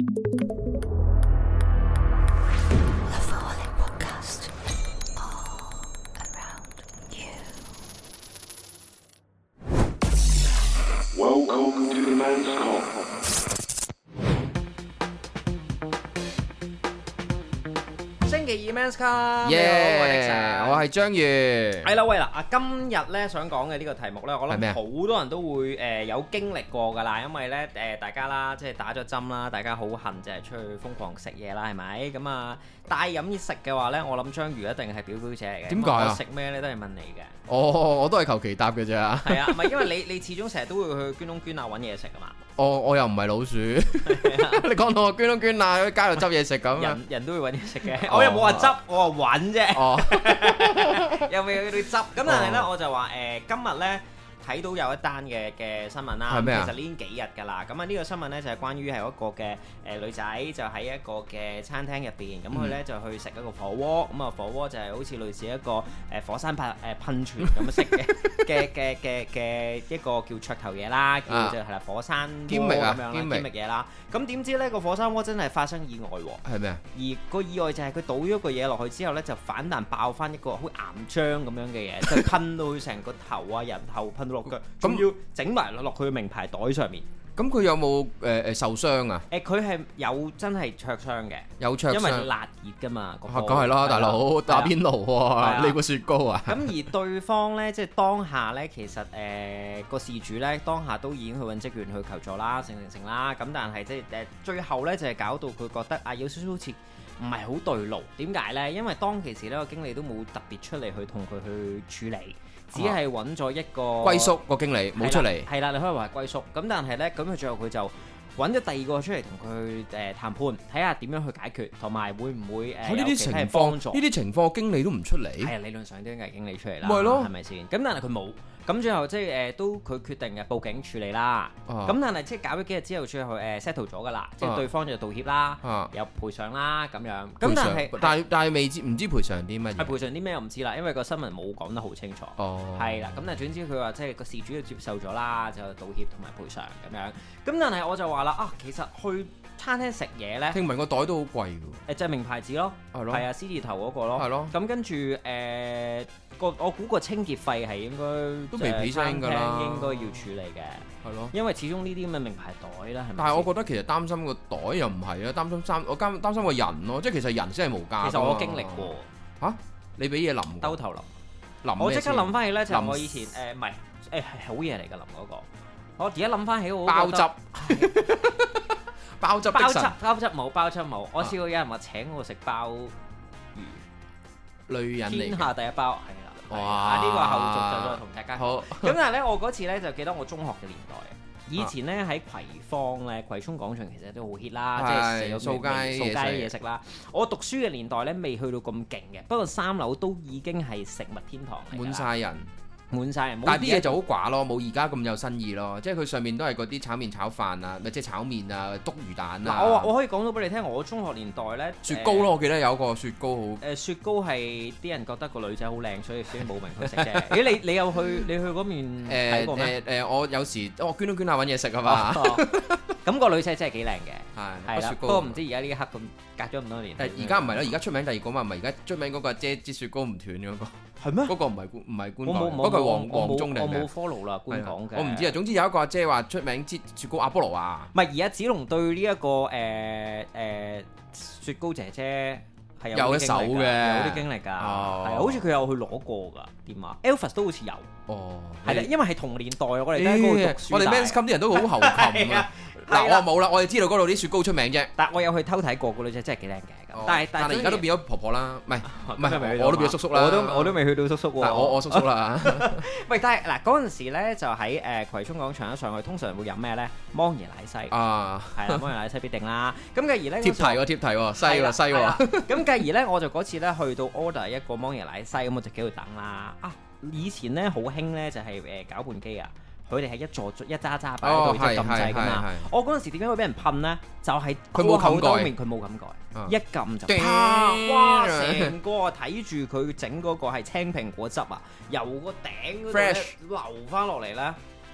Welcome to the Men's Come。 星期二 Men's Come， 我係章魚。 係啦，喂啦，今日咧想講嘅呢個題目咧，我諗好多人都會有經歷過㗎啦，因為咧大家啦，即係打咗針啦，大家好恨就係出去瘋狂食嘢啦，係咪？咁啊，帶飲食嘅話咧，我諗章魚一定係表姐嚟嘅。 點解啊？ 食咩咧都係問你嘅。 我都係求其答嘅咋。係啊，唔係因為你始終成日都會去捐窿捐罅揾嘢食㗎嘛。我又唔係老鼠。你講到我捐窿捐罅喺街度執嘢食咁。人都會揾嘢食嘅。我又冇話執，我話揾啫。又未去到執。咁但係咧，我就話今日咧睇到有一單嘅新聞啦。 係咩啊？ 其實呢幾日㗎啦。咁啊呢個新聞咧就係關於係一個嘅女仔就喺一個嘅餐廳入邊，咁佢咧就去食一個火鍋。咁啊火鍋就係好似類似一個火山噴泉咁式嘅一個叫噱頭嘢啦，叫做係啦火山鍋咁樣啦，堅味嘢啦。咁點知咧個火山鍋真係發生意外喎？係咩啊？而個意外就係佢倒咗個嘢落去之後咧，就反彈爆翻一個好岩漿咁樣嘅嘢，就噴到佢成個頭啊人頭噴到落腳，仲要整埋落佢嘅名牌袋上面。 咁佢有冇受傷啊？ 佢係有真係灼傷嘅， 有灼傷，因為辣熱㗎嘛。 梗係啦，大佬打邊爐喎，呢個雪糕啊！ 咁而對方咧，即係當下咧，其實個事主咧，當下都已經去揾職員去求助啦，成啦。咁但係即係最後咧，就係搞到佢覺得啊，有少少好似唔係好對路。點解咧？因為當其時呢個經理都冇特別出嚟去同佢去處理。只係揾咗一個歸宿個經理冇出嚟， 係啦，你可以話係歸宿。咁但係呢，咁佢最後佢就揾咗第二個出嚟同佢談判，睇下點樣去解決，同埋會唔會呢啲情況，呢啲情況經理都唔出嚟。 係啊，理論上都應該係經理出嚟啦， 咪咯， 係咪先？咁但係佢冇。咁最後即係都佢決定嘅報警處理啦。咁但係即係搞咗幾日之後，最後settle 咗㗎啦。即係對方就道歉啦，有賠償啦咁樣。咁但係未知唔知賠償啲乜嘢？ 係賠償啲咩我唔知啦，因為個新聞冇講得好清楚。係啦，咁但係總之佢話即係個事主就接受咗啦，就道歉同埋賠償咁樣。咁但係我就話啦啊，其實去餐廳食嘢咧， 聽聞個袋都好貴㗎。 就係名牌子咯，係啊，C 字頭嗰個咯。係咯。咁跟住我估個清潔費係應該都未俾聲㗎啦， 應該要處理嘅。係咯，因為始終呢啲咁嘅名牌袋啦，係咪？ 但係我覺得其實擔心個袋又唔係啊，我擔心個人咯，即係其實人先係無價。 其實我經歷過嚇，你俾嘢淋兜頭淋，我即刻諗翻起咧，就係我以前唔係係好嘢嚟㗎淋嗰個。我而家諗翻起我包汁。包汁冇。我試過有人話請我食鮑魚， 女人嚟， 天下第一包係啦。 哇！ 呢個後續就再同大家好。 咁但係咧，我嗰次咧就記得我中學嘅年代。以前咧喺葵芳咧，葵涌廣場其實都好 hit 啦，即係有掃街嘢食啦。我讀書嘅年代咧，未去到咁勁嘅，不過3樓都已經係食物天堂嚟， 滿晒人。 但係啲嘢就好寡咯，冇而家咁有新意咯。即係佢上面都係嗰啲炒麵炒飯啊，咪即係炒麵啊，篤魚蛋啊。 我可以講到俾你聽，我中學年代咧， 雪糕咯，我記得有個雪糕好。 雪糕係啲人覺得個女仔好靚，所以先冇名去食啫。咦？你有去嗰邊睇過咩？ 我有時我捐窿捐罅揾嘢食啊嘛。 咁個女仔真係幾靚嘅，係啦。不過唔知而家呢一刻咁隔咗咁多年。 而家唔係啦，而家出名第二個嘛，唔係而家出名嗰個姐支雪糕唔斷嗰個。係咩？嗰個唔係官港，嗰個係黃忠定係咩？我冇 follow 啦，官港嘅。我唔知啊。總之有一個阿姐話出名支雪糕阿波羅啊。唔係，而家子龍對呢一個雪糕姐姐係有一手嘅，有啲經歷㗎。係好似佢有去攞過㗎。點啊 Elvis 都好似有。哦，係啦，因為係同年代，我哋喺嗰度讀書。 我哋 Men's Come 啲人都好猴擒啊。嗱，我冇啦，我哋知道嗰度啲雪糕出名啫。 但我有去偷睇過個女仔，真係幾靚嘅。但係而家都變咗婆婆啦，唔係，我都變咗叔叔啦。 我都未去到叔叔喎。 但係我叔叔啦。 喂，但係嗱嗰陣時咧，就喺葵涌廣場一上去，通常會飲咩咧？芒椰奶西啊，係啦，芒椰奶西必定啦。咁繼而咧，貼題喎，西喎。 咁繼而咧，我就嗰次咧去到 order 一個芒椰奶西，咁我就喺度等啦。啊，以前咧好興咧就係攪拌機啊。佢哋係一揸擺喺度，即係撳掣㗎嘛。我嗰陣時點解會俾人噴咧？就係佢冇冚蓋，佢冇冚蓋，一撳就啪！哇！成個睇住佢整嗰個係青蘋果汁啊，由個頂嗰度流翻落嚟咧。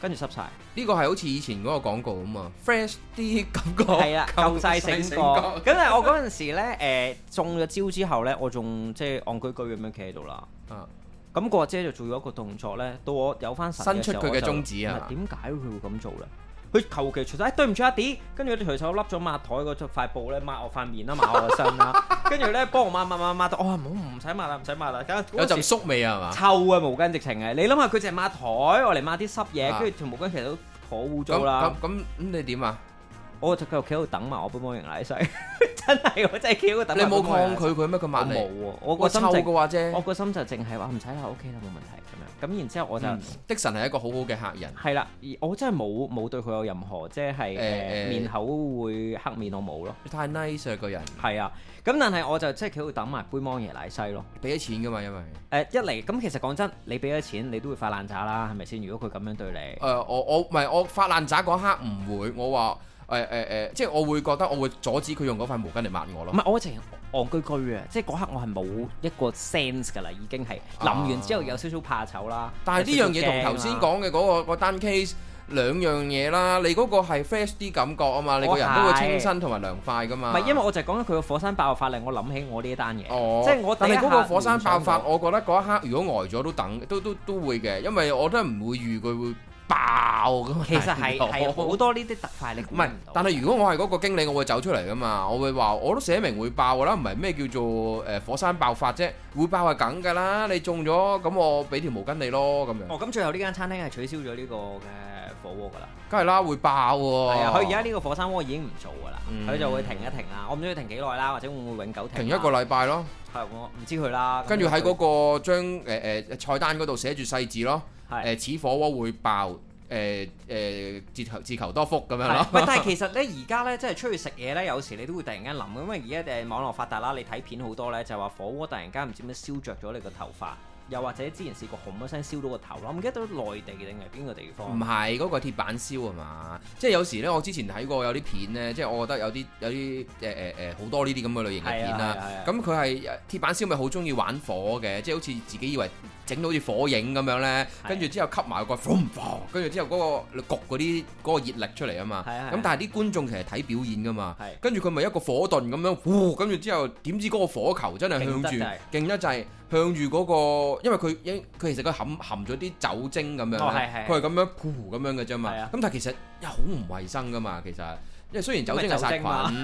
跟住濕晒。 呢個係好似以前嗰個廣告啊嘛 ，fresh 啲感覺。係啊，夠晒醒過。咁但係我嗰陣時咧，中咗招之後咧，我仲即係戇居居咁樣企喺度啦。咁個阿姐就做咗一個動作咧，到我有翻神嘅時候， 伸出佢嘅中指啊！ 點解佢會咁做咧？佢求其除晒，對唔住阿 D，跟住佢隨手笠咗抹台嗰塊布咧，抹我塊面啦，抹我個身啦，跟住咧幫我抹到，我話唔使抹啦，唔使抹啦， 有陣宿味啊嘛， 臭啊毛巾直情係，你諗下佢淨係抹台，我嚟抹啲濕嘢，跟住條毛巾其實都好污糟啦。咁你點啊？ 我就繼續企喺度等埋我杯魔型奶洗，真係我真係企喺度等。 你冇抗拒佢咩？佢抹你？ 冇喎，我個心臭嘅話啫。 我個心就淨係話唔使啦，OK 啦，冇問題咁樣。咁然之後我就的神係一個好好嘅客人。 係啦，我真係冇對佢有任何即係面口會黑面，我冇咯。 太 nice 啦個人。係啊，咁但係我就即係企喺度等埋杯魔型奶西咯。 俾咗錢㗎嘛，因為一嚟咁其實講真，你俾咗錢，你都會發爛渣啦，係咪先？如果佢咁樣對你， 我唔係我發爛渣嗰刻唔會，我話。即係我會覺得我會阻止佢用嗰塊毛巾嚟抹我咯。唔係， 我直情戇居居啊！即係嗰刻我係冇一個 sense 㗎啦，已經係淋完之後有少少怕醜啦。 但係呢樣嘢同頭先講嘅嗰單 case 兩樣嘢啦。你嗰個係 fresh 啲感覺啊嘛，你個人都會清新同埋涼快㗎嘛。 唔係，因為我就係講緊佢個火山爆發令我諗起我呢一單嘢。即係我。 但係嗰個火山爆發，我覺得嗰一刻如果呆咗都會嘅，因為我都唔會預佢會爆咁。 其實係好多呢啲特快，你估唔到。 但係如果我係嗰個經理，我會走出嚟噶嘛，我會話我都寫明會爆噶啦，唔係咩叫做火山爆發啫，會爆係梗噶啦，你中咗咁我俾條毛巾你咯咁樣。 咁最後呢間餐廳係取消咗呢個嘅火鍋噶啦。 梗係啦，會爆喎。係啊， 佢而家呢個火山鍋已經唔做噶啦，佢就會停一停啦。我唔知佢停幾耐啦，或者會唔會永久停？ 停一個禮拜咯。係我唔知佢啦。 跟住喺嗰個張菜單嗰度寫住細字咯。此火鍋會爆。自求多福咁樣咯。 但係其實咧，而家咧，即係出去食嘢咧，有時你都會突然間諗，因為而家網絡發達啦，你睇片好多咧，就話火鍋突然間唔知咩燒着咗你個頭髮，又或者之前試過轟一聲燒到個頭咯。我唔記得到內地定係邊個地方？ 唔係嗰個鐵板燒啊嘛，即係有時咧，我之前睇過有啲片咧，即係我覺得有啲好多呢啲咁嘅類型嘅片啦。咁佢係鐵板燒咪好中意玩火嘅，即係好似自己以為整到好似火影咁樣咧，跟住之後吸埋個跟住之後嗰個焗嗰個熱力出嚟啊嘛。咁但係啲觀眾其實睇表演噶嘛，跟住佢咪一個火盾咁樣，跟住之後點知嗰個火球真係向住勁得滯，向住嗰個，因為佢其實佢含咗啲酒精咁樣，佢係咁樣咁樣嘅啫嘛。咁但係其實又好唔衞生噶嘛，其實。因為雖然酒精係殺菌，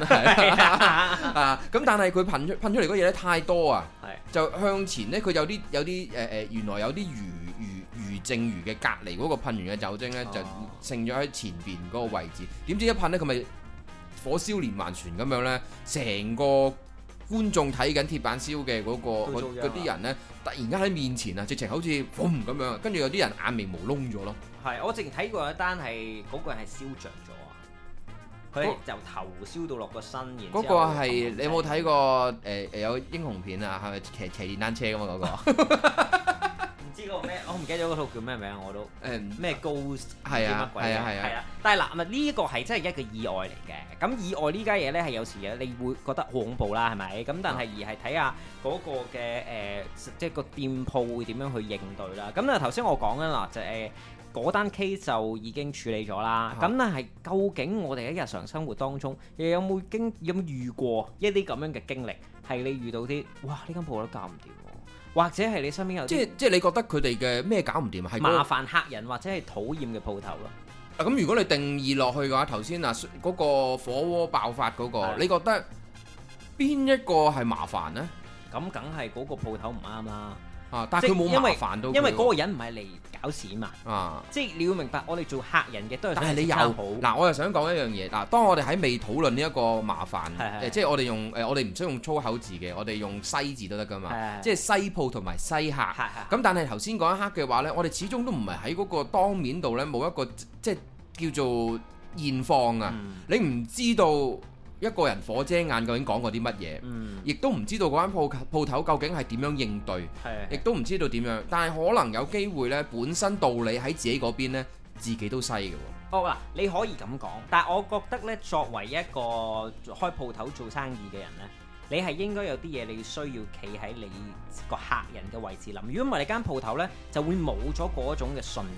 咁但係佢噴出嚟嗰嘢咧太多啊，就向前咧佢有啲原來有啲餘剩餘嘅隔離嗰個噴完嘅酒精咧就剩咗喺前邊嗰個位置，點知一噴咧佢咪火燒連環船咁樣咧，成個觀眾睇緊鐵板燒嘅嗰啲人咧，突然間喺面前啊，直情好似咁樣，跟住有啲人眼眉毛窿咗咯。係， 我之前睇過一單係嗰個人係燒着咗。佢由頭燒到落個身，然嗰個係你有冇睇過有英雄片啊？係咪騎電單車㗎嘛？嗰個唔知個咩，我唔記得咗嗰套叫咩名我都咩 Ghost 係啊係啊，但係嗱呢個係真係一個意外嚟嘅。咁意外呢家嘢咧係有時你會覺得好恐怖啦，係咪？咁但係而係睇下嗰個嘅即係個店鋪會點樣去應對啦。咁頭先我講緊嗱就嗰單 case 就已經處理咗啦，咁但係究竟我哋喺日常生活當中，有冇遇過一啲咁樣嘅經歷？係你遇到啲哇呢間鋪都搞唔掂，或者係你身邊有即係你覺得佢哋嘅咩搞唔掂啊？係麻煩客人或者係討厭嘅鋪頭咯。 咁如果你定義落去嘅話，頭先嗰個火鍋爆發嗰個，你覺得邊一個係麻煩呢？ 咁梗係嗰個鋪頭唔啱啦。 但係佢冇麻煩到， 因為嗰個人唔係嚟搞事嘛。即係你要明白，我哋做客人嘅都係。但係你又好嗱，我又想講一樣嘢嗱。當我哋喺未討論呢一個麻煩，即係我哋用我哋唔需要用粗口字嘅，我哋用西字都得㗎嘛。即係西鋪同埋西客。咁但係頭先嗰一刻嘅話呢，我哋始終都唔係喺嗰個當面度呢，冇一個即係叫做現況啊。你唔知道一個人火遮眼究竟講過啲乜嘢，亦都唔知道嗰間鋪頭究竟係點樣應對，亦都唔知道點樣。但係可能有機會呢，本身道理喺自己嗰邊呢，自己都西嘅喎。 你可以咁講，但係我覺得呢，作為一個開鋪頭做生意嘅人呢，你係應該有啲嘢你需要企喺你個客人嘅位置諗。如果唔係，你間鋪頭呢，就會冇咗嗰種嘅信任。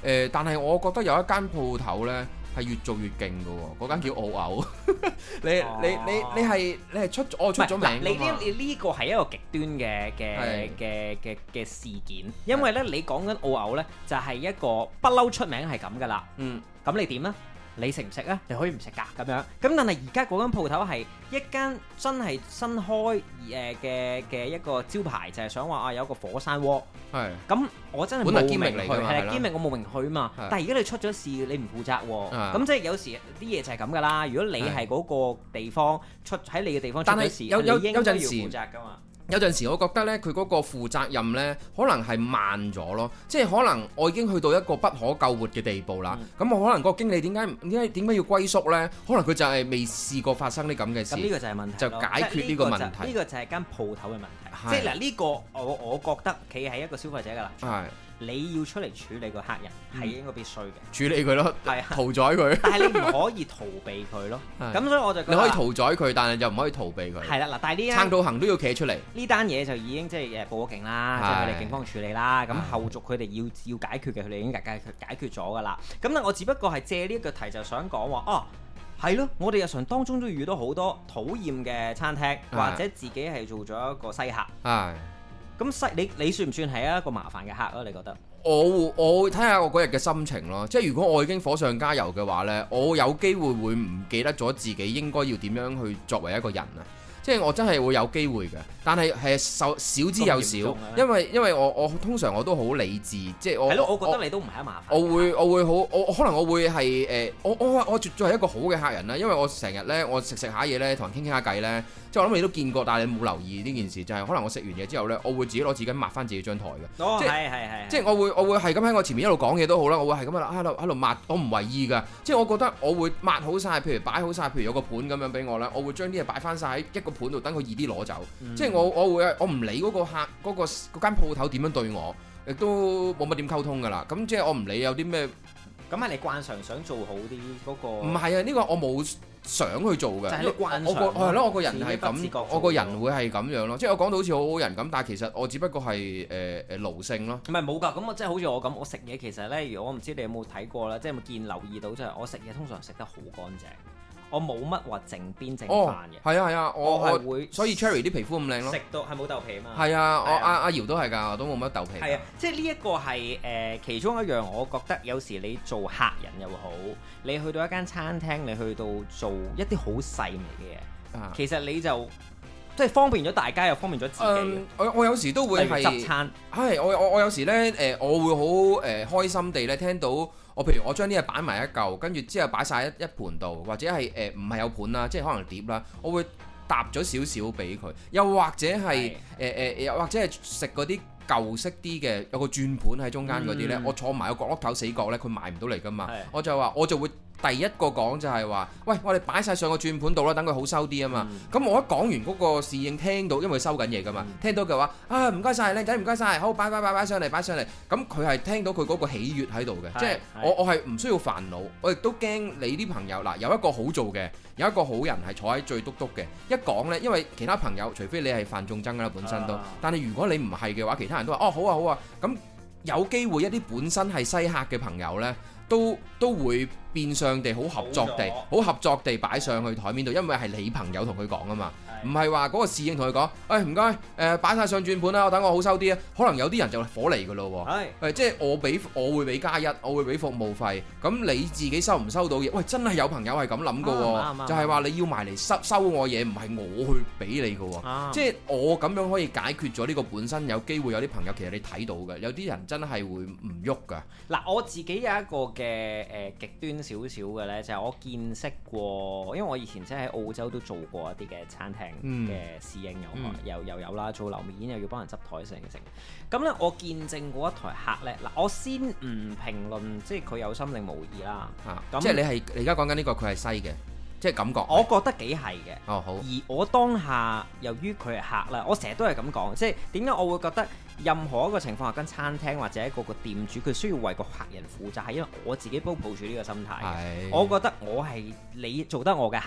但係我覺得有一間鋪頭咧係越做越勁嘅喎，嗰間叫澳牛。你係出咗名。 你呢個係一個極端嘅事件，因為咧你講緊澳牛咧就係一個不嬲出名係咁噶啦。咁你點咧？你食唔食啊？你可以唔食㗎咁樣。咁但係而家嗰間鋪頭係一間真係新開嘅一個招牌，就係想話有個火山鍋。係。咁我真係冇名去，係堅名我冇名去嘛。但係而家你出咗事，你唔負責喎。咁即係有時啲嘢就係咁㗎啦。如果你係嗰個地方喺你嘅地方出咗事，你應該要負責㗎嘛。 有陣時我覺得咧，佢嗰個負責任咧，可能係慢咗咯。即係可能我已經去到一個不可救活嘅地步啦。咁我可能個經理點解要龜縮咧？可能佢就係未試過發生啲咁嘅事。咁呢個就係問題， 就解決呢個問題。 呢個就係間鋪頭嘅問題。即係嗱，呢個我覺得企喺一個消費者嘅立場。你要出嚟處理個客人係應該必須嘅， 處理佢咯，屠宰佢。 但係你唔可以逃避佢咯。咁所以我就覺得你可以屠宰佢，但係又唔可以逃避佢。 係啦，嗱，但係呢撐到行都要企出嚟。 呢單嘢就已經即係報咗警啦，即係佢哋警方處理啦。咁後續佢哋要解決嘅，佢哋已經解決咗㗎啦。咁咧，我只不過係借呢一個題就想講話，係咯，我哋日常當中都遇到好多討厭嘅餐廳，或者自己係做咗一個西客。咁你算唔算係一個麻煩嘅客啊？你覺得？ 我會睇下我嗰日嘅心情咯。即係如果我已經火上加油嘅話呢，我有機會會唔記得咗自己應該要點樣去作為一個人啊。即係我真係會有機會嘅，但係少之又少，因為我通常我都好理智，即係我覺得你都唔係一麻煩。 我可能我會係我絕對係一個好嘅客人啦，因為我成日呢，我食下嘢呢，同人傾下偈呢。即係我諗你都見過，但係你冇留意呢件事，就係可能我食完嘢之後呢，我會自己攞紙巾抹翻自己張台嘅。即係我會係咁喺我前面一路講嘢都好啦，我會係咁喺度抹，我唔為意㗎。即係我覺得我會抹好晒，譬如擺好晒，譬如有個盤咁樣俾我啦，我會將啲嘢擺翻晒喺一個盤度，等佢易啲攞走。即係我唔理嗰個客嗰間鋪頭點樣對我，亦都冇乜點溝通㗎啦。咁即係我唔理有啲咩。 咁係你慣常想做好啲嗰個？ 唔係啊，呢個我冇想去做嘅。就係你慣常。係咯，我個人係咁，我個人會係咁樣咯。即係我講到好似好好人咁，但係其實我只不過係奴性咯。 唔係冇㗎，咁我即係好似我咁，我食嘢其實咧，如果我唔知你有冇睇過啦，即係有冇留意到，就係我食嘢通常食得好乾淨。我冇乜話剩邊剩飯嘅。係啊，我係會，所以 Cherry 啲皮膚咁靚咯。 食到係冇豆皮啊嘛。 係啊，我阿瑤都係㗎，我都冇乜豆皮。 係啊，即係呢一個係其中一樣，我覺得有時你做客人又好，你去到一間餐廳，你去到做一啲好細微嘅嘢，其實你就即係方便咗大家，又方便咗自己。 我有時都會係執餐。 係我有時咧我會好開心地咧聽到。譬如我將啲嘢擺埋一嚿，跟住之後擺晒一盤度，或者係唔係有盤啦，即係可能碟啦，我會搭咗少少俾佢，又或者係又或者係食嗰啲舊式啲嘅，有個轉盤喺中間嗰啲呢，我坐埋個角落頭死角呢，佢埋唔到嚟噶嘛，我就會第一個講就係話，喂，我哋擺晒上個轉盤度啦，等佢好收啲啊嘛。咁我一講完嗰個侍應聽到，因為收緊嘢噶嘛，聽到嘅話唔該晒，靚仔唔該晒，好擺上嚟。咁佢係聽到佢嗰個喜悅喺度嘅，即係我係唔需要煩惱，我亦都驚你啲朋友嗱有一個好做嘅，有一個好人係坐喺最篤嘅，一講呢，因為其他朋友除非你係犯眾憎啦本身都，但係如果你唔係嘅話，其他人都話好啊，咁有機會一啲本身係西客嘅朋友呢，都會變相地好合作地擺上去台面度，因為係你朋友同佢講啊嘛，唔係話嗰個侍應同佢講，唔該，擺晒上轉盤啦，我等我好收啲啊。可能有啲人就火嚟噶咯喎，即係我會俾加一，我會俾服務費，咁你自己收唔收到嘢？喂，真係有朋友係咁諗噶喎，就係話你要埋嚟收我嘢，唔係我去俾你噶喎，即係我咁樣可以解決咗呢個本身有機會有啲朋友其實你睇到嘅，有啲人真係會唔喐噶。嗱， 我自己有一個嘅極端少少嘅呢，就係我見識過，因為我以前即係喺澳洲都做過一啲嘅餐廳嘅侍應，又有啦，做樓面又要幫人執台成。咁呢，我見證過一台客呢，嗱，我先唔評論，即係佢有心定無意啦。 即係你而家講緊呢個佢係西嘅。即係感覺， 我覺得幾係嘅。 好。 而我當下由於佢係客啦，我成日都係咁講，即係點解我會覺得任何一個情況下跟餐廳或者一個店主佢需要為個客人負責，係因為我自己都抱住呢個心態。我覺得我係你做得我嘅客，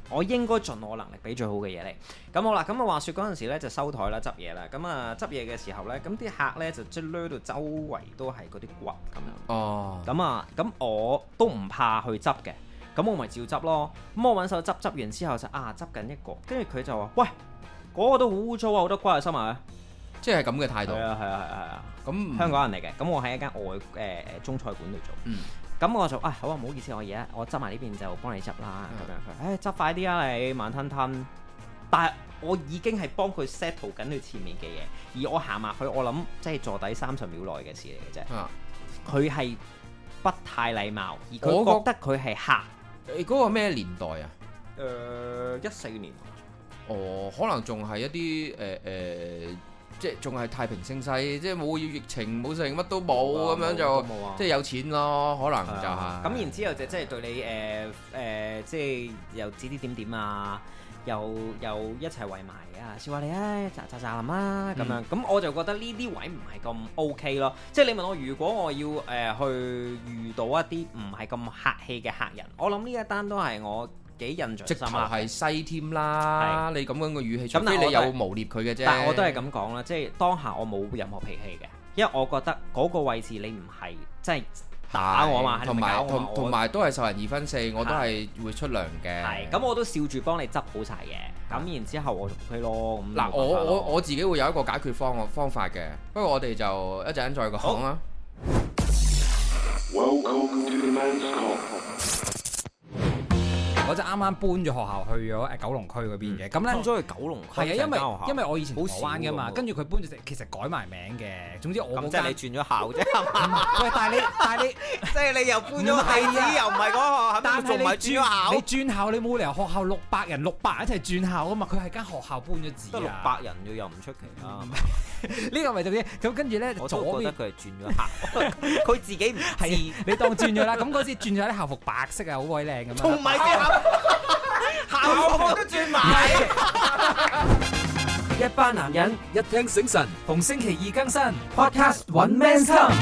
我應該盡我能力俾最好嘅嘢你。咁好啦，咁啊話説嗰陣時咧就收台啦、執嘢啦。咁啊執嘢嘅時候咧，咁啲客咧就即係掠到周圍都係嗰啲骨咁樣。哦。咁我都唔怕去執嘅，咁我咪照執咯。咁我揾手執完之後就執緊一個，跟住佢就話：喂，嗰個都好污糟啊，好多骨喺收埋啊！即係咁嘅態度。係啊。咁香港人嚟嘅，咁我喺一間中菜館度做。咁我就好啊，唔好意思，我執埋呢邊就幫你執啦。咁樣佢，執快啲啊你，慢吞吞。但係我已經係幫佢 settle 緊佢前面嘅嘢，而我行埋去，我諗即係坐底30秒內嘅事嚟嘅啫。佢係不太禮貌，而佢覺得佢係客。 你嗰個咩年代啊 ？14年。 哦，可能仲係一啲即係仲係太平盛世，即係冇疫情冇剩乜都冇咁樣就即係有錢咯，可能就係。 咁然之後就即係對你即係又指啲點啊，又一齊圍埋笑話你咋林啦咁樣。咁我就覺得呢啲位唔係咁 OK 咯。即係你問我，如果我要去遇到一啲唔係咁客氣嘅客人，我諗呢一單都係我幾印象深刻。直頭係西添啦，你咁樣嘅語氣，除非你有誣衊佢嘅啫。但係我都係咁講啦，即係當下我冇任何脾氣嘅，因為我覺得嗰個位置你唔係即係打我嘛，同埋都係受人2分4，我都係會出糧嘅。係，咁我都笑住幫你執好晒嘅，咁然之後我就 OK 咯。 嗱，我自己會有一個解決方法嘅，不過我哋就一陣間再講啦。 我就啱啱搬咗學校去咗九龍區嗰邊嘅，咁咧搬咗去九龍區。 係啊，因為我以前台灣㗎嘛，跟住佢搬咗其實改埋名嘅。總之我咁即係你轉咗校啫。喂，但係你即係你又搬咗地址，又唔係嗰個學校，但係你轉校。 你轉校你冇理由學校600人一齊轉校啊嘛，佢係間學校搬咗字啊。 得600人又唔出奇啦。 呢個咪就係咁，跟住咧我都覺得佢係轉咗校，佢自己唔係你當轉咗啦。咁嗰時轉咗啲校服白色啊，好鬼靚咁樣。 同埋校服都轉埋。 一班男人一聽醒神，逢星期2更新 Podcast One Man's Come。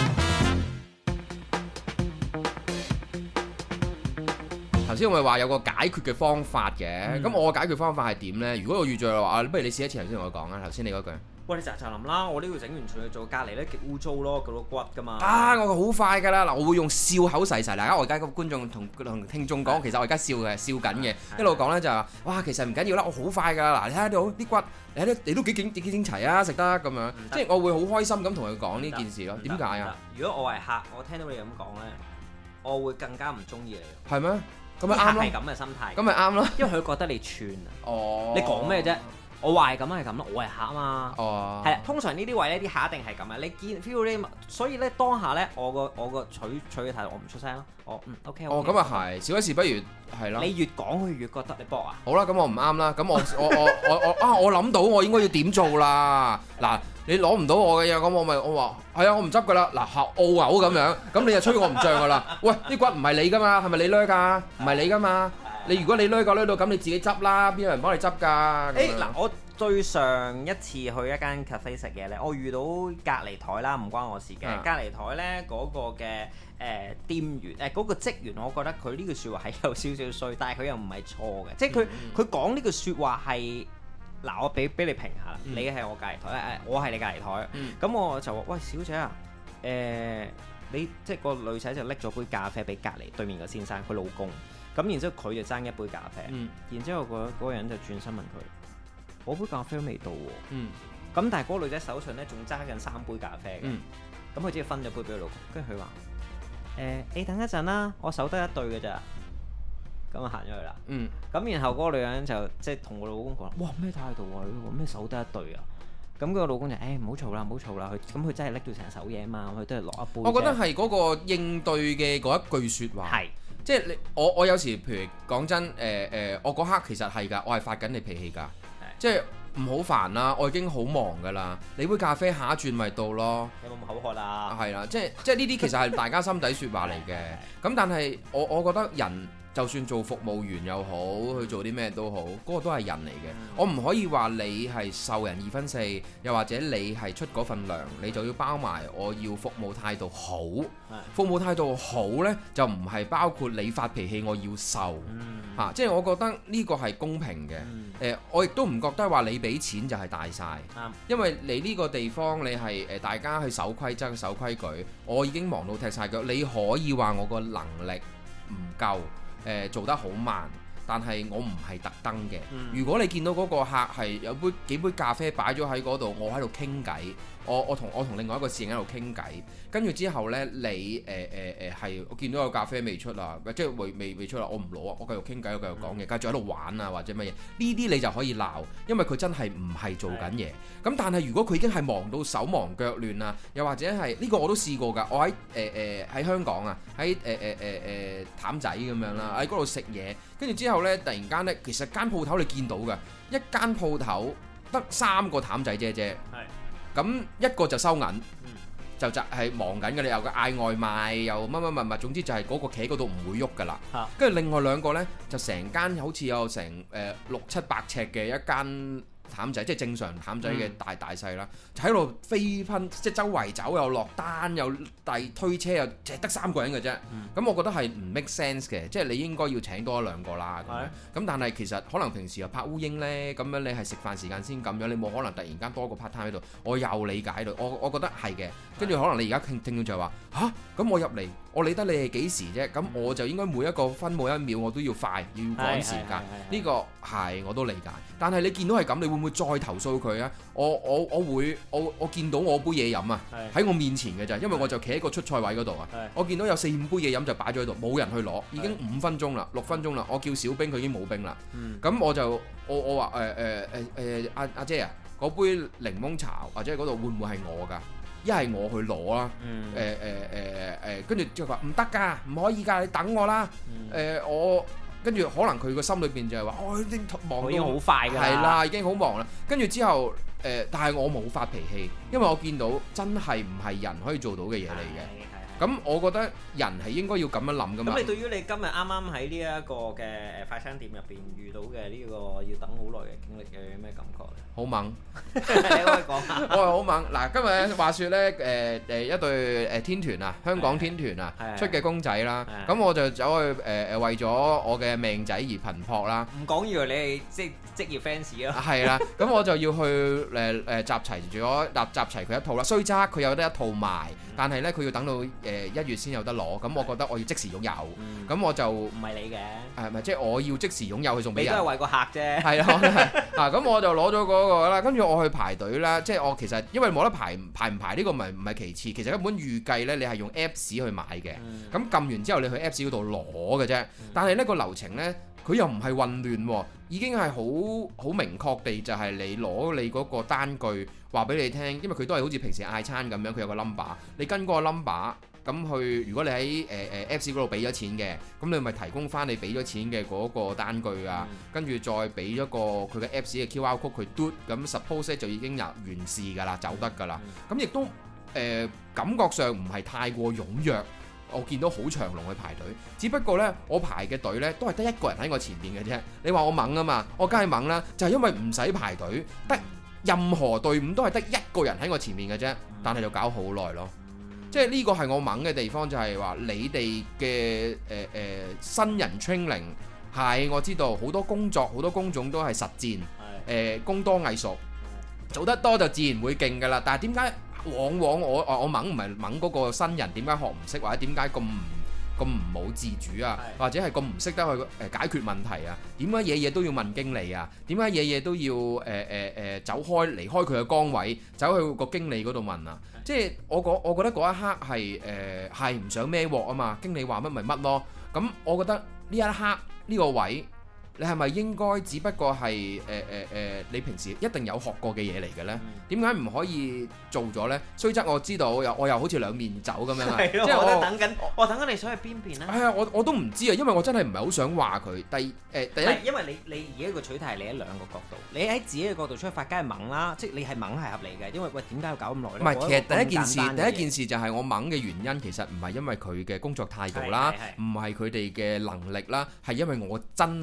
頭先我咪話有個解決嘅方法嘅，咁我嘅解決方法係點咧？如果我遇著話，不如你試一次頭先同我講啊，頭先你嗰句。喂，你就淋啦！我呢度整完出去做隔離咧，極污糟咯，嗰度骨噶嘛。我好快噶啦！嗱，我會用笑口噬噬。嗱，我而家個觀眾同聽眾講，其實我而家笑緊嘅，一路講咧就係話，哇，其實唔緊要啦，我好快噶啦！嗱，你睇下啲骨，你都幾整齊啊，食得咁樣，即係我會好開心咁同佢講呢件事咯。點解啊？ 如果我係客，我聽到你咁講咧，我會更加唔中意你。 係咩？咁咪啱咯。 係咁嘅心態。 咁咪啱咯。 因為佢覺得你串啊。哦。你講咩啫？我話係咁係咁咯，我係客啊嘛。哦。係啊，通常呢啲位咧，啲客一定係咁啊。你見 feel 呢？所以咧當下咧，我個取嘅態度，我唔出聲咯。OK。哦，咁啊係，少一事不如係咯。你越講佢越覺得你搏啊。好啦，咁我唔啱啦。咁我諗到我應該要點做啦。嗱，你攞唔到我嘅嘢，咁我話係啊，我唔執噶啦。嗱，澳牛咁樣，咁你就吹我唔脹噶啦。喂，啲骨唔係你噶嘛，係咪你掠㗎？唔係你噶嘛。如果你掠到咁，你自己執啦，邊有人幫你執㗎？ 嗱，我最上一次去一間 cafe 食嘢咧，我遇到隔離台啦，唔關我事嘅。隔離台咧嗰個嘅店員嗰個職員，我覺得佢呢句説話係有少少衰，但係佢又唔係錯嘅，即係佢講呢句説話係嗱，我俾你評下啦，你係我隔離台，我係你隔離台，咁我就話喂，小姐啊，你即係個女仔就拎咗杯咖啡俾隔離對面個先生，佢老公。咁然之後佢就爭一杯咖啡，然之後嗰個人就轉身問佢：我杯咖啡都未到喎。咁但係嗰個女仔手上咧仲揸緊3杯咖啡嘅，咁佢只係分咗杯俾佢老公。跟住佢話：你等一陣啦，我手得一對嘅咋。咁啊行咗去啦。咁然後嗰個女人就即係同我老公講：哇，咩態度啊？你咩手得一對啊？咁佢個老公就唔好嘈啦，唔好嘈啦。咁佢真係拎到成手嘢啊嘛，佢都係落一杯。我覺得係嗰個應對嘅嗰一句説話。係。即係我有時譬如講真，我嗰刻其實係㗎，我係發緊你脾氣㗎，即係唔好煩啦，我已經好忙㗎啦，你杯咖啡下一轉咪到咯。有冇咁口渴啊？係啦，即係呢啲其實係大家心底説話嚟嘅。咁但係我覺得人就算做服務員又好，去做啲咩都好，嗰個都係人嚟嘅。我唔可以話你係受人2分4，又或者你係出嗰份糧，你就要包埋我要服務態度好。服務態度好呢，就唔係包括你發脾氣我要受， 嚇，即係我覺得呢個係公平嘅。我亦都唔覺得話你俾錢就係大晒，因為你呢個地方你係大家去守規則、守規矩，我已經忙到踢晒腳。你可以話我個能力唔夠，做得好慢。但係我唔係特登嘅。如果你見到嗰個客係有幾杯咖啡擺咗喺嗰度，我喺度傾偈，我同另外一個侍應喺度傾偈，跟住之後呢，你係我見到有咖啡未出啊，即係未出啦，我唔攞啊，我繼續傾偈，我繼續講嘢，繼續喺度玩啊或者乜嘢，呢啲你就可以鬧，因為佢真係唔係做緊嘢。咁但係如果佢已經係忙到手忙腳亂啊，又或者係呢個我都試過㗎，我喺香港啊，喺譚仔咁樣啦，喺嗰度食嘢，跟住之後呢，突然間呢，其實間鋪頭你見到嘅一間鋪頭得3個譚仔姐姐，咁一個就收銀，就係忙緊嘅，你又嗌外賣又乜，總之就係嗰個企喺嗰度唔會喐㗎啦。跟住另外2個呢，就成間好似有成6、7、8尺嘅一間譚仔，即係正常譚仔嘅大細啦，就喺度飛噴，即係周圍走又落單又推車又淨係得3個人嘅啫。咁我覺得係唔 make sense 嘅，即係你應該要請多1、2個啦。咁但係其實可能平時又拍烏蠅呢，咁樣你係食飯時間先咁樣，你冇可能突然間多個 part time 喺度。我又理解到，我覺得係嘅。跟住可能你而家聽到就係話嚇，咁我入嚟，我理得你係幾時啫？咁我就應該每一個分每一秒我都要快，要趕時間。呢個係我都理解。但係你見到係咁，你會唔會再投訴佢啊？我見到我杯嘢飲啊，喺我面前嘅咋，因為我就企喺個出菜位嗰度啊。我見到有4、5杯嘢飲就擺咗喺度，冇人去攞，已經5分鐘啦、6分鐘啦。我叫小冰，佢已經冇冰啦。咁我話阿姐啊，嗰杯檸檬茶或者嗰度會唔會係我㗎？一係我去攞啦，跟住就話唔得㗎，唔可以㗎，你等我啦。我跟住可能佢個心裏邊就係話，我已經忙到已經好快㗎，係啦，已經好忙啦。跟住之後但係我冇發脾氣，因為我見到真係唔係人可以做到嘅嘢嚟嘅。咁我覺得人係應該要咁樣諗㗎嘛。咁你對於你今日啱啱喺呢一個嘅快餐店入邊遇到嘅呢個要等好耐嘅經歷嘅咩感覺咧？好猛，你可以講下。我係好猛。嗱，今日話説咧一對天團啊，香港天團啊出嘅公仔啦，咁我就走去為咗我嘅命仔而頻撲啦。唔講以為你係即係職業 fans 咯。係啦，咁我就要去集齊佢一套啦。雖則佢有得一套賣，但係咧佢要等到1月先有得攞，咁我覺得我要即時擁有，咁我就唔係你嘅，係咪即係我要即時擁有去送俾人？你都係為個客啫。係啦，咁我就攞咗嗰個啦，跟住我去排隊啦，即係我其實因為冇得排唔排呢個唔係其次，其實根本預計呢，你係用 Apps 去買嘅，咁撳完之後你去 Apps 嗰度攞嘅啫，但係呢個流程呢，佢又唔係混亂喎，已經係好明確地就係你攞你嗰個單據話俾你聽，因為佢都係好似平時嗌餐咁樣，佢有個 number， 你跟嗰個 number。咁去，如果你喺Apps 嗰度俾咗錢嘅，咁你咪提供翻你俾咗錢嘅嗰個單據啊，跟住再俾咗個佢嘅 Apps 嘅 QR code 佢嘟，咁 suppose 就已經完事㗎啦，走得㗎啦。咁亦都感覺上唔係太過踴躍，我見到好長龍去排隊，只不過呢，我排嘅隊呢都係得1個人喺我前面嘅啫。你話我猛啊嘛，我梗係猛啦，就係因為唔使排隊，得任何隊伍都係得1個人喺我前面嘅啫，但係就搞好耐咯。即係呢個係我猛嘅地方，就係話你哋嘅新人 training 係我知道好多工作好多工種都係實戰，工多藝熟，做得多就自然會勁㗎啦。但係點解往往我猛唔係猛嗰個新人點解學唔識，或者點解咁冇自主啊，或者係咁唔識得去解決問題啊？點解嘢嘢都要問經理啊？點解嘢嘢都要離開佢嘅崗位，走去個經理嗰度問啊？即係我覺得嗰一刻係唔想孭鑊啊嘛，經理話乜咪乜咯。咁我覺得呢一刻呢個位，你係咪應該只不過係你平時一定有學過嘅嘢嚟嘅呢？點解唔可以做咗呢？雖則我知道我又好似兩面走咁樣啊！即係我等緊你想去邊邊呢？係啊，我都唔知啊，因為我真係唔係好想話佢。第一，因為你而家個取態係你喺2個角度，你喺自己嘅角度出發，梗係猛啦，即係你係猛係合理嘅，因為喂點解要搞咁耐呢？唔係，其實第一件事就係我猛嘅原因，其實唔係因為佢嘅工作態度啦，唔係佢哋嘅能力啦，係因為我真係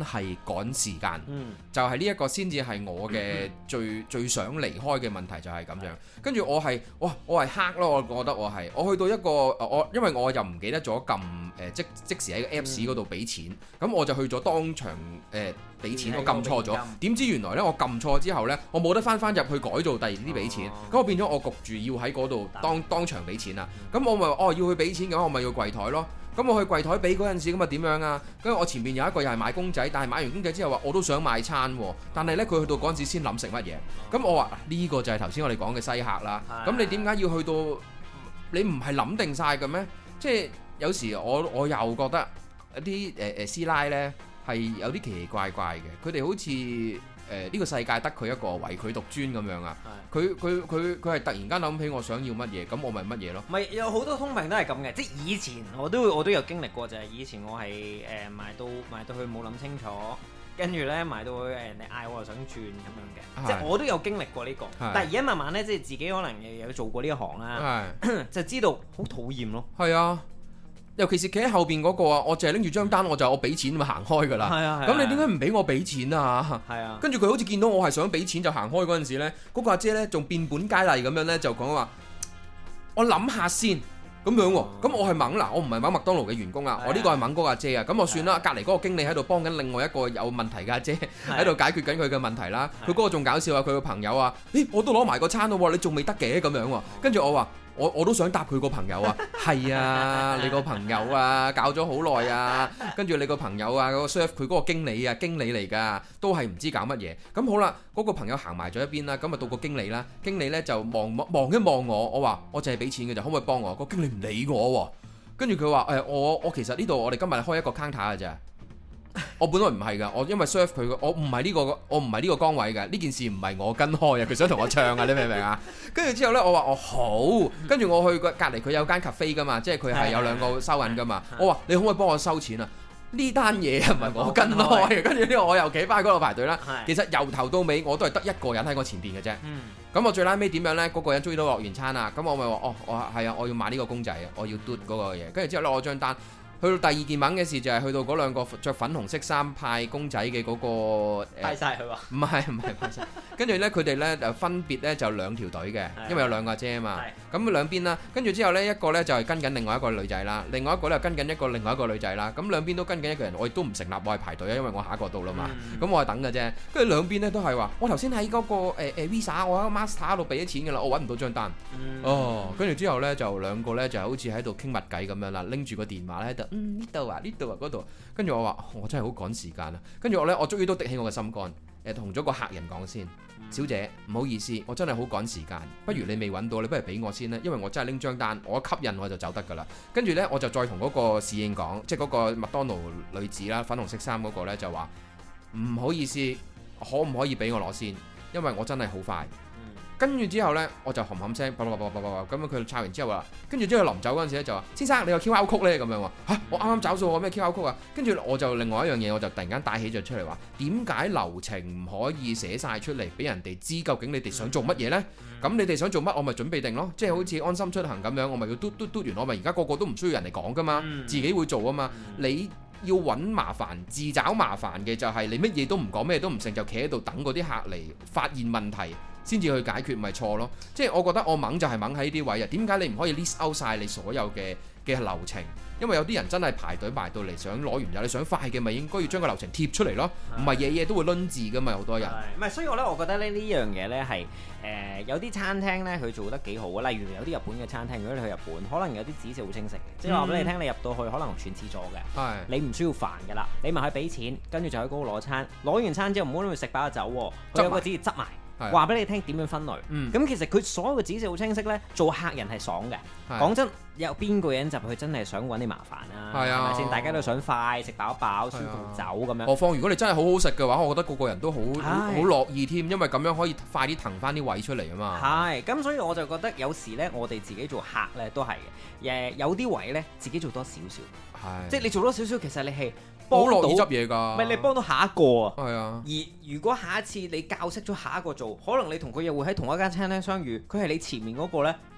趕時間，就係呢一個先至係我嘅最想離開嘅問題就係咁樣。跟住我係黑咯，我覺得我去到一個因為我又唔記得咗撳即時喺個 Apps 嗰度俾錢，咁我就去咗當場俾錢，我撳錯咗，點知原來呢，我撳錯之後呢，我冇得翻入去改造第二啲俾錢，咁我變咗我焗住要喺嗰度當場俾錢啦。咁我咪要去俾錢嘅話，我咪要櫃台咯。咁我去櫃台俾嗰陣時，咁啊點樣啊？跟住我前面有一個又係買公仔，但係買完公仔之後話我都想買餐喎，但係呢，佢去到嗰陣時先諗食乜嘢。咁我話呢個就係頭先我哋講嘅西客啦。咁你點解要去到你唔係諗定晒嘅咩？即係有時我又覺得一啲師奶呢係有啲奇奇怪怪嘅，佢哋好似呢個世界得佢一個唯佢獨尊咁樣啊！佢係突然間諗起我想要乜嘢，咁我咪乜嘢咯。咪有好多通病都係咁嘅，即係以前我都有經歷過，就係以前我係買到去冇諗清楚，跟住咧買到去人哋嗌我又想轉咁樣嘅，即係我都有經歷過呢個。但係而家慢慢咧，即係自己可能有做過呢一行啦，就知道好討厭咯。 係啊。尤其是企喺後邊嗰個啊，我淨係拎住張單，我俾錢咪行開㗎啦。咁你點解唔俾我俾錢啊？跟住佢好似見到我係想俾錢就行開嗰陣時咧，嗰個阿姐咧仲變本加厲咁樣咧就講話，我諗下先咁樣喎。咁我係猛嗱，我唔係猛麥當勞嘅員工啊，我呢個係猛嗰個阿姐啊。咁我算啦，隔離嗰個經理喺度幫緊另外一個有問題嘅阿姐喺度解決緊佢嘅問題啦。佢嗰個仲搞笑啊，佢個朋友啊，我都攞埋個餐咯，你仲未得嘅咁樣喎。跟住我話。我都想答佢個朋友啊，係啊，你個朋友啊，搞咗好耐啊，跟住你個朋友啊，嗰個 serve 佢嗰個經理嚟㗎，都係唔知搞乜嘢。咁好啦，嗰個朋友行埋咗一邊啦，咁啊到個經理啦，經理呢就望一望我話我淨係俾錢嘅就可唔可以幫我？個經理唔理我喎，跟住佢話我其實呢度我哋今日開一個 counter 㗎咋。我本來唔係㗎，我因為 serve 佢我唔係呢個崗位㗎，呢件事唔係我跟開啊，佢想同我唱啊，你明唔明啊？跟住之後呢，我話好，跟住我去隔離佢有間 cafe 㗎嘛，即係佢係有兩個收銀㗎嘛，我話你可唔可以幫我收錢啊？呢單嘢唔係我跟開嘅，跟住呢我又企翻喺嗰度排隊啦。其實由頭到尾我都係得一個人喺我前邊嘅啫。咁我最拉尾點樣呢？嗰個人終於都落完餐啦，咁我咪話我要買呢個公仔，我要嘟嗰個嘢，跟住之後呢，我張單。去到第二件猛嘅事就係去到嗰兩個着粉紅色衫派公仔嘅嗰個派晒佢喎， 唔係派晒，跟住呢，佢哋呢就分別呢就兩條隊嘅，因為有兩個阿姐啊嘛，咁兩邊啦，跟住之後呢，一個呢就係跟緊另外一個女仔啦，另外一個呢跟緊另外一個女仔啦，咁兩邊都跟緊一個人，我亦都唔成立，我係排隊啊，因為我下一個到啦嘛，咁我係等嘅啫，跟住兩邊呢都係話，我頭先喺嗰個Visa 我喺 Master 度俾咗錢㗎啦，我揾唔到張單，跟住之後呢，就兩個呢就好似喺度傾密偈咁樣啦，拎住個電話咧喺度。呢度啊嗰度，跟住我話我真係好趕時間啊！跟住我終於都滴起我嘅心肝，同咗個客人講先，小姐唔好意思，我真係好趕時間，不如你未揾到，你不如俾我先啦，因為我真係拎張單，我吸引我就走得噶啦。跟住呢，我就再同嗰個侍應講，即係嗰個麥當勞女子啦，粉紅色衫嗰個呢，就話唔好意思，可唔可以俾我攞先？因為我真係好快。跟住之後呢，我就冚冚聲，咁樣佢抄完之後話，跟住之後臨走嗰陣時咧就話：先生，你有 QR code 呢？咁樣話嚇，我啱啱找數，我咩 QR code 啊？跟住我就另外一樣嘢，我就突然間帶起咗出嚟話：點解流程唔可以寫晒出嚟俾人哋知？究竟你哋想做乜嘢呢？咁你哋想做乜，我咪準備定咯。即係好似安心出行咁樣，我咪要嘟完，我咪而家個個都唔需要人嚟講噶嘛，自己會做啊嘛。你要揾麻煩，自找麻煩嘅就係你乜嘢都唔講，咩都唔成，就企喺度等嗰啲客嚟發現問題。先至去解決咪錯咯，即係我覺得我猛就係猛喺呢啲位啊！點解你唔可以 list out 晒你所有嘅流程？因為有啲人真係排隊埋到嚟想攞完油，你想快嘅咪應該要將個流程貼出嚟咯，唔係嘢嘢都會攆字噶嘛，好多人。唔係，所以我覺得呢樣嘢呢係有啲餐廳呢，佢做得幾好啊，例如有啲日本嘅餐廳，如果你去日本，可能有啲指示好清晰嘅，即係話俾你聽，你入到去可能全廁所嘅，你唔需要煩噶啦，你咪去俾錢，跟住就喺嗰度攞餐，攞完餐之後唔好諗住食飽就走喎，佢有個指示執埋。話俾你聽點樣分類，咁其實佢所有嘅指示好清晰呢，做客人係爽嘅。講真，有邊個人入去真係想揾你麻煩啊？係咪先？大家都想快食飽飽，舒服走咁樣。何況如果你真係好好食嘅話，我覺得個個人都好樂意添，因為咁樣可以快啲騰翻啲位出嚟啊嘛。係，咁所以我就覺得有時呢，我哋自己做客呢都係嘅。有啲位呢，自己做多少少，即係你做多少少，其實你係好樂意執嘢㗎。唔係你幫到下一個啊。係啊。而如果下一次你教識咗下一個做，可能你同佢又會喺同一間餐廳相遇，佢係你前面嗰個呢，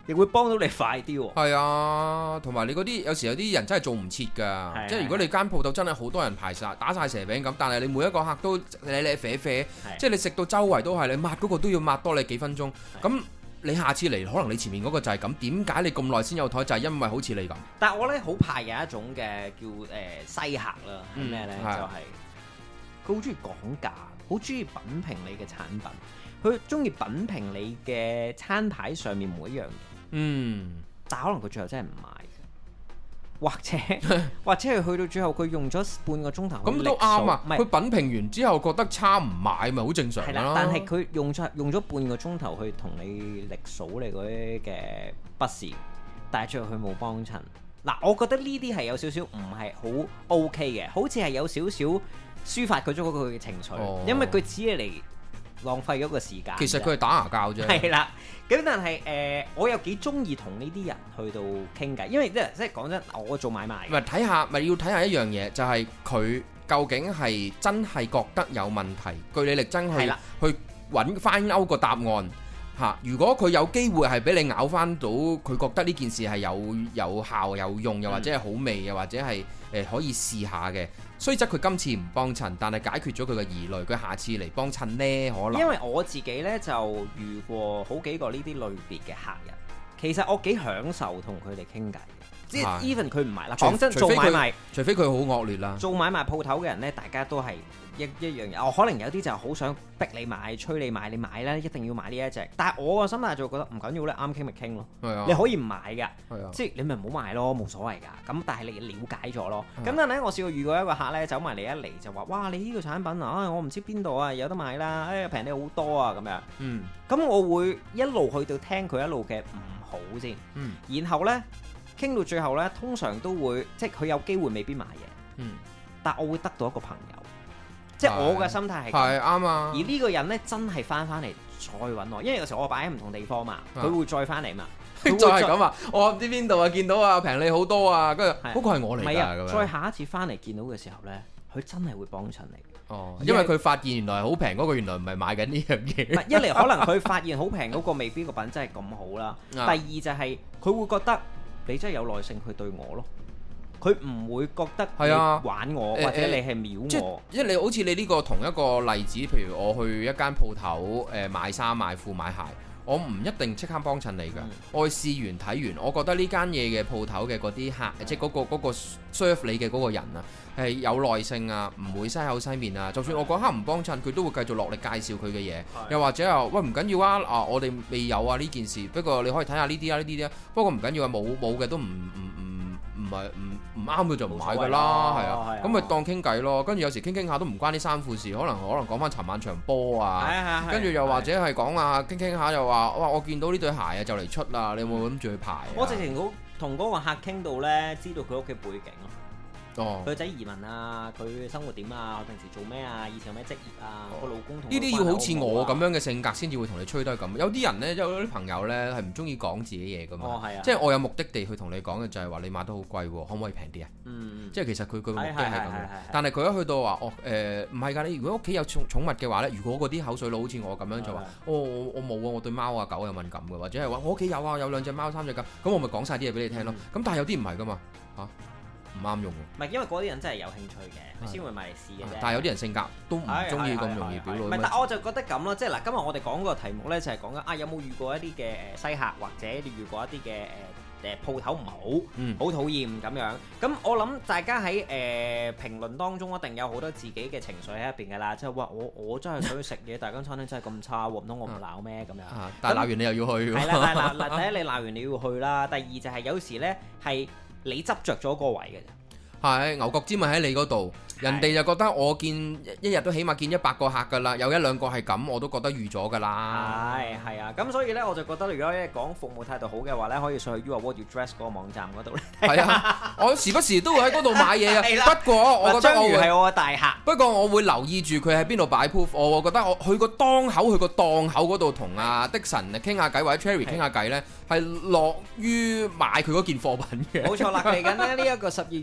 亦會幫到你快啲喎。 係啊，同埋你嗰啲有時有啲人真係做唔切㗎，即係如果你間鋪頭真係好多人排晒打晒蛇餅咁，但係你每一個客都舐啡啡，即係你食到周圍都係，你抹嗰個都要抹多你幾分鐘，咁你下次嚟可能你前面嗰個就係咁，點解你咁耐先有枱？就係因為好似你咁。 但係我咧好怕有一種嘅叫西客啦，係咩咧？就係佢好中意講價，好中意品評你嘅產品。佢中意品評你嘅餐牌上面每一樣嘢，但可能佢最後真係唔買，或者係去到最後佢用咗半個鐘頭，咁都啱啊！佢品評完之後覺得差唔買咪好正常啦。但係佢用咗半個鐘頭去同你力數你嗰啲嘅不是，但係最後佢冇幫襯。嗱，我覺得呢啲係有少少唔係好 OK 嘅，好似係有少少抒發佢咗佢嘅情緒，因為佢只係嚟浪費咗個時間。其實佢係打牙膠啫。係啦，咁但係我又幾中意同呢啲人去到傾偈，因為即係講真，我做買賣。咪睇下，咪要睇下一樣嘢，就係佢究竟係真係覺得有問題，據理力爭去揾翻勾個答案嚇。如果佢有機會係俾你咬翻到，佢覺得呢件事係有效有用，又或者係好味，又或者係可以試下嘅。雖則佢今次唔幫襯，但係解決咗佢嘅疑慮，佢下次嚟幫襯呢？可能因為我自己呢，就遇過好幾個呢啲類別嘅客人，其實我幾享受同佢哋傾偈嘅，即係 even 佢唔買啦。講真，做買賣，除非佢好惡劣啦。做買賣鋪頭嘅人呢，大家都係一樣嘢。可能有啲就好想逼你買，催你買，你買啦，一定要買呢一隻。但係我個心態就覺得唔緊要咧，啱傾咪傾咯。你可以唔買㗎，即係你咪唔好買咯，冇所謂㗎。咁但係你了解咗咯。咁但係咧，我試過遇過一個客咧，走埋嚟一嚟就話：哇！你呢個產品啊，我唔知邊度啊，有得買啦，平你好多啊咁樣。咁我會一路去到聽佢一路嘅唔好先。然後咧傾到最後咧，通常都會即係佢有機會未必買嘢。但我會得到一個朋友。即係我嘅心態係咁，啱啊！而呢個人咧真係翻嚟再揾我，因為有時候我擺喺唔同地方嘛，佢會再翻嚟嘛。再係咁啊！我唔知邊度啊，見到啊平你好多啊，跟住嗰個係我嚟㗎。再下一次翻嚟見到嘅時候咧，佢真係會幫襯你。哦，因為佢發現原來好平嗰個原來唔係買緊呢樣嘢。一嚟可能佢發現好平嗰個未必個品質係咁好啦。第二就係佢會覺得你真係有耐性去對我咯。佢唔會覺得你玩我，或者你係秒我。因為你好似你呢個同一個例子，譬如我去一間鋪頭買衫買褲買鞋，我唔一定即刻幫襯你㗎。我試完睇完，我覺得呢間嘢嘅鋪頭嘅嗰啲客，即係嗰個 serve 你嘅嗰個人啊，係有耐性啊，唔會西口西面啊。就算我嗰刻唔幫襯，佢都會繼續落力介紹佢嘅嘢。又或者喂唔緊要啊，我哋未有啊呢件事，不過你可以睇下呢啲啊呢啲啊。不過唔緊要啊，冇嘅都唔啱佢就唔買㗎啦，係啊，咁咪當傾偈咯。跟住有時傾下都唔關啲衫褲事，可能講翻尋晚場波啊，跟住又或者係講啊傾下又話哇我見到呢對鞋啊就嚟出啦，你有冇諗住去排？我直情同嗰個客傾到咧，知道佢屋企背景咯。佢個仔移民啊，佢生活點啊，平時做咩啊，以前有咩職業啊，個老公同呢啲要好似我咁樣嘅性格先至會同你吹得咁。有啲人呢，有啲朋友呢，係唔中意講自己嘢噶嘛。即係我有目的地去同你講嘅就係話你買得好貴喎，可唔可以平啲啊？即係其實佢個目的係咁樣。但係佢一去到話唔係㗎，你如果屋企有寵物嘅話呢，如果嗰啲口水佬好似我咁樣就話我冇啊，我對貓啊狗有敏感嘅，或者係話我屋企有啊，有2隻貓3隻狗，咁我咪講晒啲嘢俾你聽咯。咁但係有啲唔係㗎嘛嚇。唔啱用喎，唔係因為嗰啲人真係有興趣嘅，佢先會買嚟試嘅啫。但係有啲人性格都唔中意咁容易表露。唔係，但我就覺得咁咯，即係嗱，今日我哋講個題目咧就係講緊有冇遇過一啲嘅西客，或者你遇過一啲嘅鋪頭唔好，好討厭咁樣。咁我諗大家喺評論當中一定有好多自己嘅情緒喺入邊㗎啦，即係話我真係想去食嘢，但係間餐廳真係咁差喎，唔通我唔鬧咩咁樣？但係鬧完你又要去。係啦，但係第一你鬧完你要去啦，第二就係有時咧係。你執着咗個位嘅啫，係牛角尖咪喺你嗰度，人哋就覺得我見一日都起碼見100個客㗎啦，有1-2個係咁，我都覺得預咗㗎啦。係啊，咁所以咧我就覺得，如果咧講服務態度好嘅話咧，可以上去 You Are What You Dress 嗰個網站嗰度咧。係啊，我時不時都會喺嗰度買嘢啊。不過我覺得章魚係我嘅大客。不過我會留意住佢喺邊度擺 proof，我覺得我去個檔口嗰度同阿的神傾下偈，或者 Cherry 傾下偈咧，係樂於買佢嗰件貨品嘅。冇錯啦，嚟緊咧呢一個12月嘅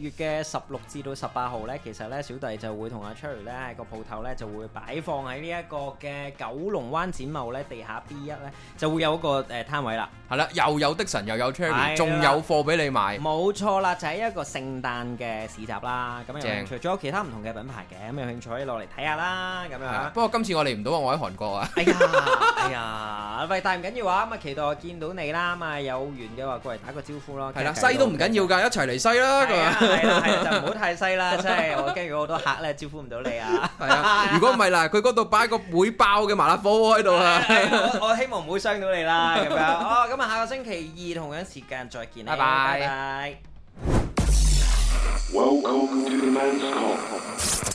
16至到18號咧，其實咧小弟就會同阿 Cherry 咧喺個鋪頭咧就會擺放喺呢一個嘅九龍灣展貿咧地下 B1咧就會有一個攤位啦。係啦， 又有的神又有 Cherry， 仲有貨俾你買。 冇錯啦，就係一個聖誕嘅市集啦。咁有興趣，仲有其他唔同嘅品牌嘅，咁有興趣可以落嚟睇下啦。咁樣。不過今次我嚟唔到啊，我喺韓國啊。 哎呀，喂，但係唔緊要啊，咁啊期待我見到你啦，咁啊有緣嘅話過嚟打個招呼咯。 係啦，西都唔緊要㗎，一齊嚟西啦。 係啦，就唔好太西啦，真係我驚如果好多客咧招呼唔到你啊。 係啊，如果唔係嗱，佢嗰度擺個會爆嘅麻辣火鍋喺度啊。 我希望唔會傷到你啦，咁樣。哦，咁啊下個星期二同樣時間再見啦，拜拜。 Welcome to the Men's Come。